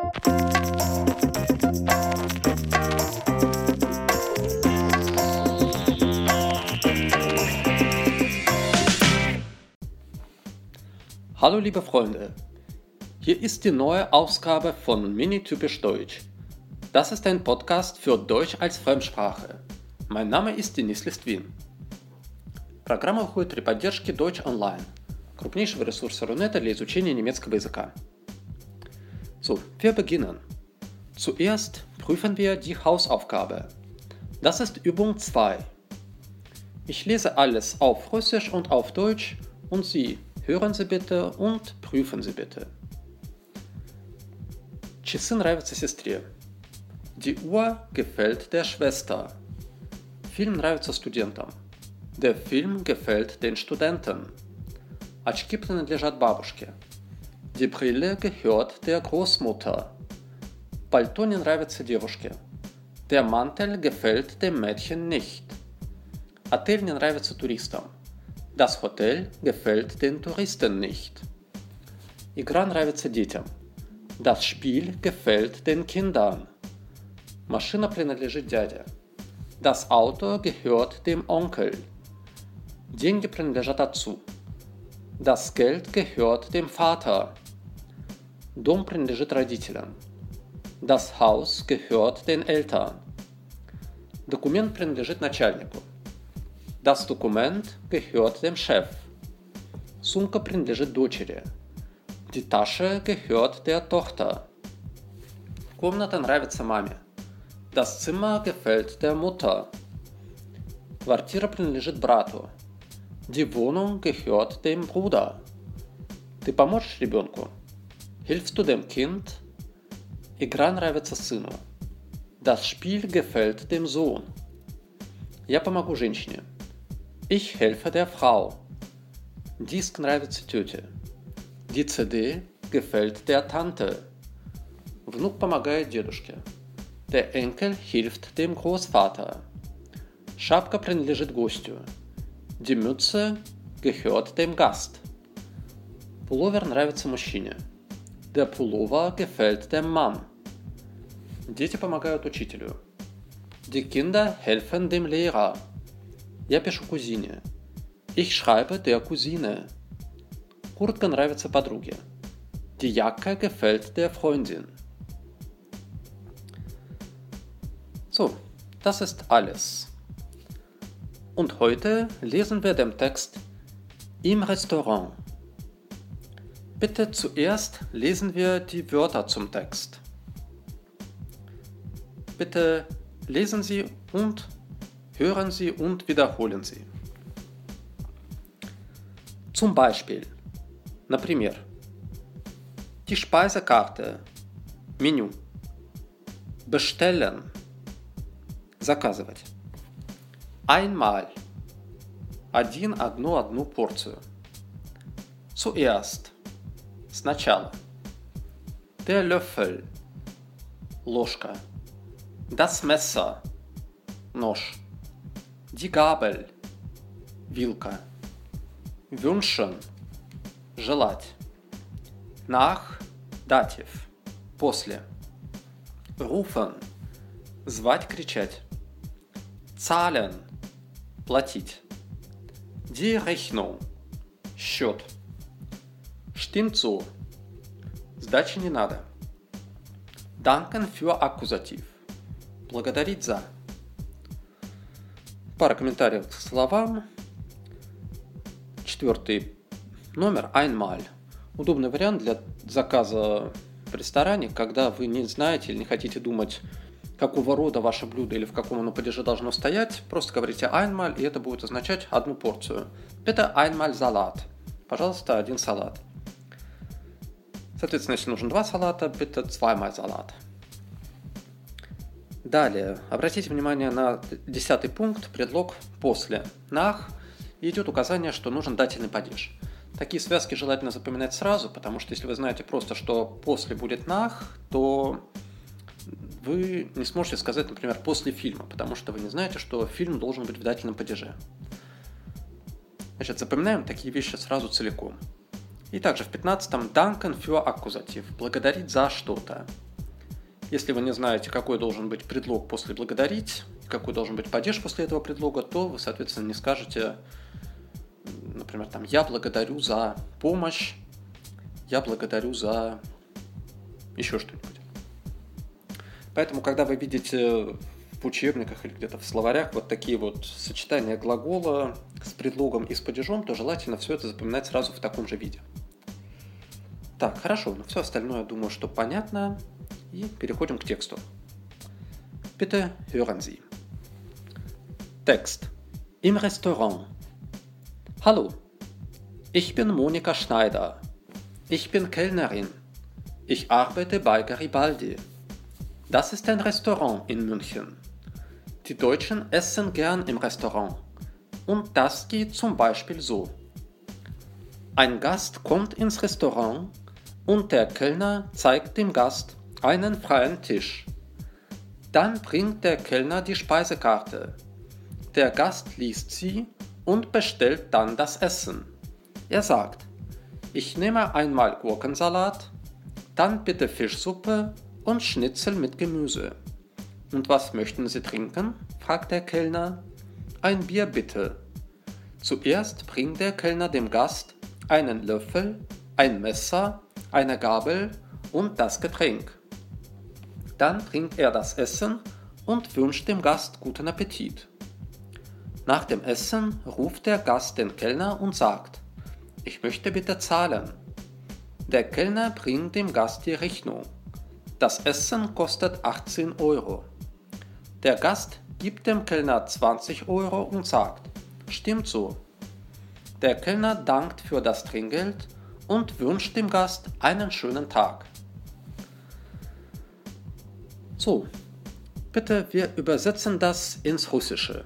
Hallo liebe Freunde, hier ist die neue Ausgabe von Mini-Typisch Deutsch. Das ist ein Podcast für Deutsch als Fremdsprache. Mein Name ist Денис Листвин. Программа выходит при поддержке Deutsch Online, крупнейшего ресурса Рунета для изучения немецкого языка. So, wir beginnen. Zuerst prüfen wir die Hausaufgabe. Das ist Übung 2. Ich lese alles auf Russisch und auf Deutsch und Sie hören Sie bitte und prüfen Sie bitte. Часы нравятся сестре. Die Uhr gefällt der Schwester. Film нравится студентам. Der Film gefällt den Studenten. Очки принадлежат бабушке. Die Brille gehört der Großmutter. Пальто не нравится девушке. Der Mantel gefällt dem Mädchen nicht. Отель не нравится туристам. Das Hotel gefällt den Touristen nicht. Игра нравится детям. Das Spiel gefällt den Kindern. Машина принадлежит дяде. Das Auto gehört dem Onkel. Деньги принадлежат отцу. Das Geld gehört dem Vater. Дом принадлежит родителям. Das Haus gehört den Eltern. Документ принадлежит начальнику. Das Dokument gehört dem Chef. Сумка принадлежит дочери. Die Tasche gehört der Tochter. Комната нравится маме. Das Zimmer gefällt der Mutter. Квартира принадлежит брату. Die Wohnung gehört dem Bruder. Ты поможешь ребенку? Hilfst du dem Kind? Игра нравится сыну. Das Spiel gefällt dem Sohn. Я помогу женщине. Ich helfe der Frau. Диск нравится тете. Die CD gefällt der Tante. Внук помогает дедушке. Der Enkel hilft dem Großvater. Шапка принадлежит гостю. Die Mütze gehört dem Gast. Пуловер нравится мужчине. Der Pullover gefällt dem Mann. Дети помогают учителю. Die Kinder helfen dem Lehrer. Я пишу кузине. Ich schreibe der Cousine. Куртка нравится подруге. Die Jacke gefällt der Freundin. So, das ist alles. Und heute lesen wir den Text im Restaurant. Bitte zuerst lesen wir die Wörter zum Text. Bitte lesen Sie und hören Sie und wiederholen Sie. Zum Beispiel, например, die Speisekarte, Menü, bestellen, заказывать. Einmal, одну порцию. Zuerst, сначала. Der Löffel, ложка. Das Messer, нож. Die Gabel, вилка. Wünschen, желать. Nach, датив, после. Rufen, звать, кричать. Zahlen, платить. Die Rechnung, счет. Stimmt so, сдачи не надо. Danken für Akkusativ, благодарить за. Пара комментариев к словам. 4 номер einmal. Удобный вариант для заказа в ресторане, когда вы не знаете или не хотите думать, какого рода ваше блюдо или в каком оно падеже должно стоять. Просто говорите einmal, и это будет означать одну порцию. Bitte einmal Salat. Пожалуйста, один салат. Соответственно, если нужен 2 салата, bitte zweimal Salat. Далее, обратите внимание на 10 пункт, предлог «после». Nach и идет указание, что нужен дательный падеж. Такие связки желательно запоминать сразу, потому что если вы знаете просто, что «после» будет nach, то вы не сможете сказать, например, «после фильма», потому что вы не знаете, что фильм должен быть в дательном падеже. Значит, запоминаем такие вещи сразу целиком. И также в 15-м «danken für Akkusativ» – «благодарить за что-то». Если вы не знаете, какой должен быть предлог после благодарить, какой должен быть падеж после этого предлога, то вы, соответственно, не скажете, например, там, я благодарю за помощь, я благодарю за еще что-нибудь. Поэтому, когда вы видите в учебниках или где-то в словарях вот такие вот сочетания глагола с предлогом и с падежом, то желательно все это запоминать сразу в таком же виде. Так, хорошо, но все остальное, думаю, что понятно. И переходим к тексту. Bitte hören Sie. Text. Im Restaurant. Hallo, ich bin Monika Schneider. Ich bin Kellnerin. Ich arbeite bei Garibaldi. Das ist ein Restaurant in München. Die Deutschen essen gern im Restaurant. Und das geht zum Beispiel so. Ein Gast kommt ins Restaurant und der Kellner zeigt dem Gast einen freien Tisch. Dann bringt der Kellner die Speisekarte. Der Gast liest sie und bestellt dann das Essen. Er sagt, ich nehme einmal Gurkensalat, dann bitte Fischsuppe und Schnitzel mit Gemüse. Und was möchten Sie trinken? Fragt der Kellner. Ein Bier bitte. Zuerst bringt der Kellner dem Gast einen Löffel, ein Messer, eine Gabel und das Getränk. Dann bringt er das Essen und wünscht dem Gast guten Appetit. Nach dem Essen ruft der Gast den Kellner und sagt, ich möchte bitte zahlen. Der Kellner bringt dem Gast die Rechnung. Das Essen kostet 18 Euro. Der Gast gibt dem Kellner 20 Euro und sagt, stimmt so. Der Kellner dankt für das Trinkgeld und wünscht dem Gast einen schönen Tag. So, bitte, wir übersetzen das ins Russische.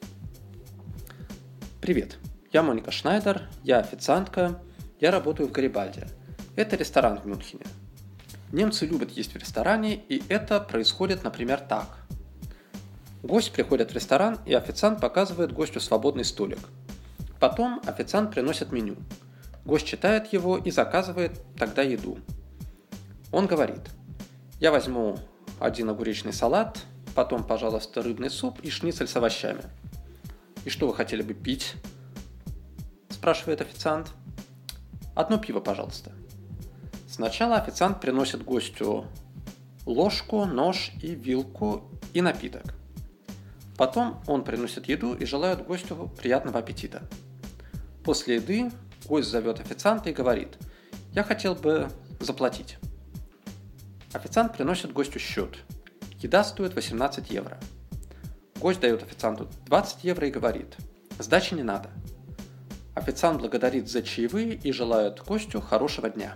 Привет, я Моника Шнайдер, я официантка, я работаю в Гарибальди. Это ресторан в Мюнхене. Немцы любят есть в ресторане, и это происходит, например, так. Гость приходит в ресторан, и официант показывает гостю свободный столик. Потом официант приносит меню. Гость читает его и заказывает тогда еду. Он говорит, я возьму один огуречный салат, потом, пожалуйста, рыбный суп и шницель с овощами. «И что вы хотели бы пить?» – спрашивает официант. «Одно пиво, пожалуйста». Сначала официант приносит гостю ложку, нож и вилку и напиток. Потом он приносит еду и желает гостю приятного аппетита. После еды гость зовет официанта и говорит, «Я хотел бы заплатить». Официант приносит гостю счет. Еда стоит 18 евро. Гость дает официанту 20 евро и говорит, сдачи не надо. Официант благодарит за чаевые и желает гостю хорошего дня.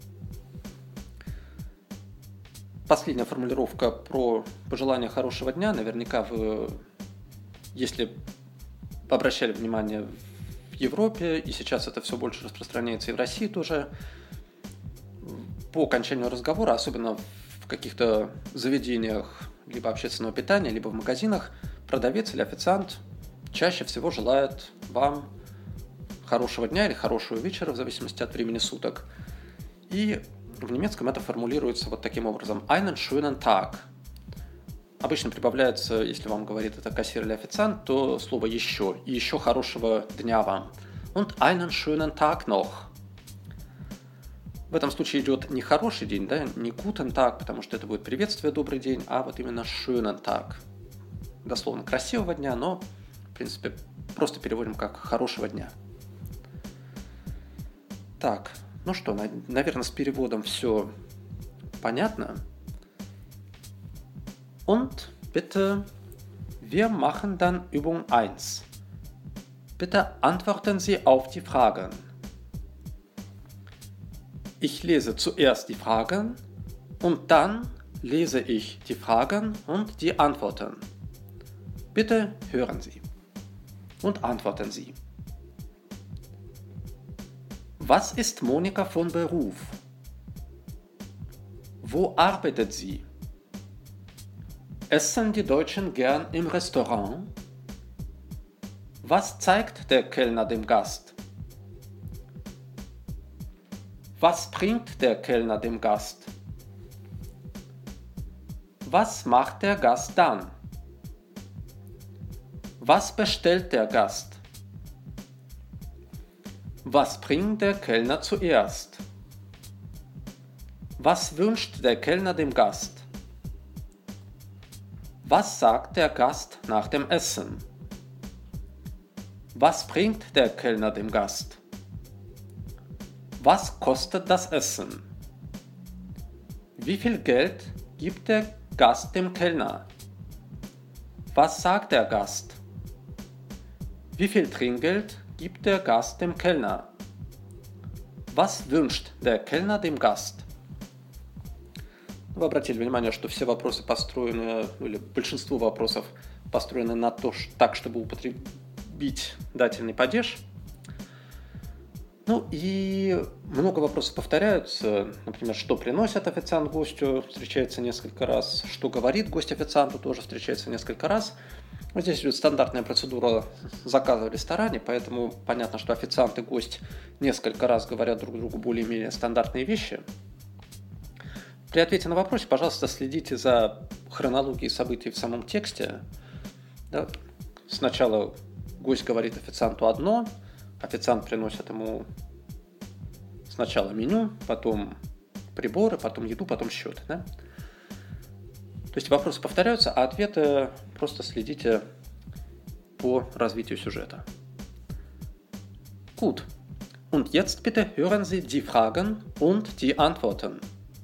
Последняя формулировка про пожелание хорошего дня. Наверняка вы, если обращали внимание в Европе, и сейчас это все больше распространяется и в России тоже, по окончанию разговора, особенно в каких-то заведениях либо общественного питания, либо в магазинах, продавец или официант чаще всего желает вам хорошего дня или хорошего вечера, в зависимости от времени суток. И в немецком это формулируется вот таким образом. Einen schönen Tag. Обычно прибавляется, если вам говорит это кассир или официант, то слово «еще». И еще хорошего дня вам. Und einen schönen Tag noch. В этом случае идет не хороший день, да, не guten Tag, потому что это будет приветствие, добрый день, а вот именно schönen Tag. Дословно красивого дня, но, в принципе, просто переводим как хорошего дня. Так, ну что, наверное, с переводом все понятно. Und bitte, wir machen dann Übung 1. Bitte antworten Sie auf die Fragen. Ich lese zuerst die Fragen und dann lese ich die Fragen und die Antworten. Bitte hören Sie und antworten Sie. Was ist Monika von Beruf? Wo arbeitet sie? Essen die Deutschen gern im Restaurant? Was zeigt der Kellner dem Gast? Was bringt der Kellner dem Gast? Was macht der Gast dann? Was bestellt der Gast? Was bringt der Kellner zuerst? Was wünscht der Kellner dem Gast? Was sagt der Gast nach dem Essen? Was bringt der Kellner dem Gast? Was kostet das Essen? Wie viel Geld gibt der Gast dem Kellner? Was sagt der Gast? Wie viel Trinkgeld gibt der Gast dem Kellner? Was wünscht der Kellner dem Gast? Вы обратили внимание, что все вопросы построены, или большинство вопросов построены на то, так, чтобы употребить дательный падеж. Ну и много вопросов повторяются. Например, что приносит официант гостю, встречается несколько раз. Что говорит гость официанту, тоже встречается несколько раз. Вот здесь идет стандартная процедура заказа в ресторане, поэтому понятно, что официант и гость несколько раз говорят друг другу более-менее стандартные вещи. При ответе на вопрос, пожалуйста, следите за хронологией событий в самом тексте. Да? Сначала гость говорит официанту одно, официант приносит ему сначала меню, потом приборы, потом еду, потом счет. Да? То есть вопросы повторяются, а ответы просто следите по развитию сюжета. Gut. Und jetzt bitte hören Sie die Fragen und die Antworten.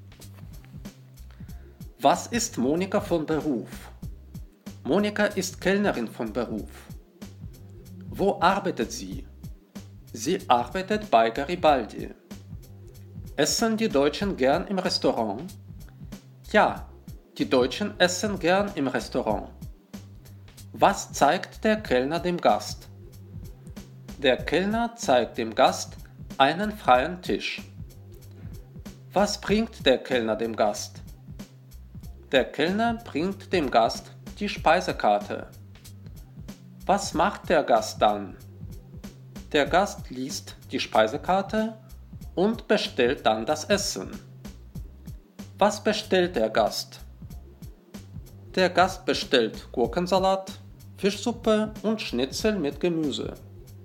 Was ist Monika von Beruf? Monika ist Kellnerin von Beruf. Wo arbeitet sie? Sie arbeitet bei Garibaldi. Essen die Deutschen gern im Restaurant? Ja, die Deutschen essen gern im Restaurant. Was zeigt der Kellner dem Gast? Der Kellner zeigt dem Gast einen freien Tisch. Was bringt der Kellner dem Gast? Der Kellner bringt dem Gast die Speisekarte. Was macht der Gast dann? Der Gast liest die Speisekarte und bestellt dann das Essen. Was bestellt der Gast? Der Gast bestellt Gurkensalat, Fischsuppe und Schnitzel mit Gemüse.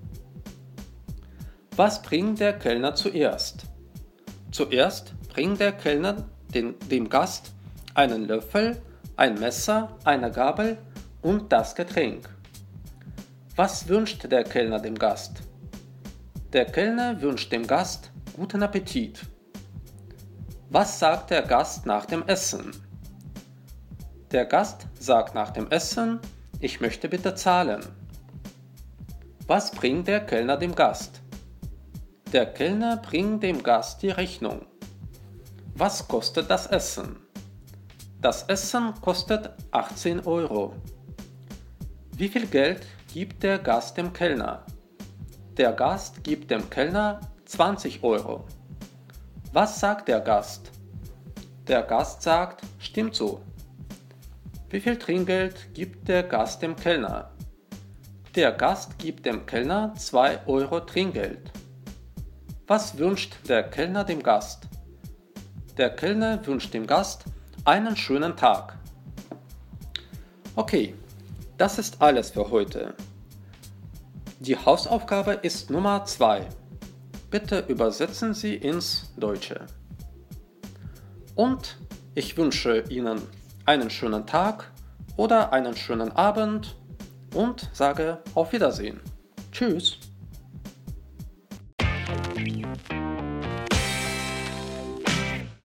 Was bringt der Kellner zuerst? Zuerst bringt der Kellner dem Gast einen Löffel, ein Messer, eine Gabel und das Getränk. Was wünscht der Kellner dem Gast? Der Kellner wünscht dem Gast guten Appetit. Was sagt der Gast nach dem Essen? Der Gast sagt nach dem Essen, ich möchte bitte zahlen. Was bringt der Kellner dem Gast? Der Kellner bringt dem Gast die Rechnung. Was kostet das Essen? Das Essen kostet 18 Euro. Wie viel Geld gibt der Gast dem Kellner? Der Gast gibt dem Kellner 20 Euro. Was sagt der Gast? Der Gast sagt, stimmt so. Wie viel Trinkgeld gibt der Gast dem Kellner? Der Gast gibt dem Kellner 2 Euro Trinkgeld. Was wünscht der Kellner dem Gast? Der Kellner wünscht dem Gast einen schönen Tag. Okay, das ist alles für heute. Die Hausaufgabe ist Nummer 2. Bitte übersetzen Sie ins Deutsche. Und ich wünsche Ihnen einen schönen Tag oder einen schönen Abend und sage auf Wiedersehen. Tschüss.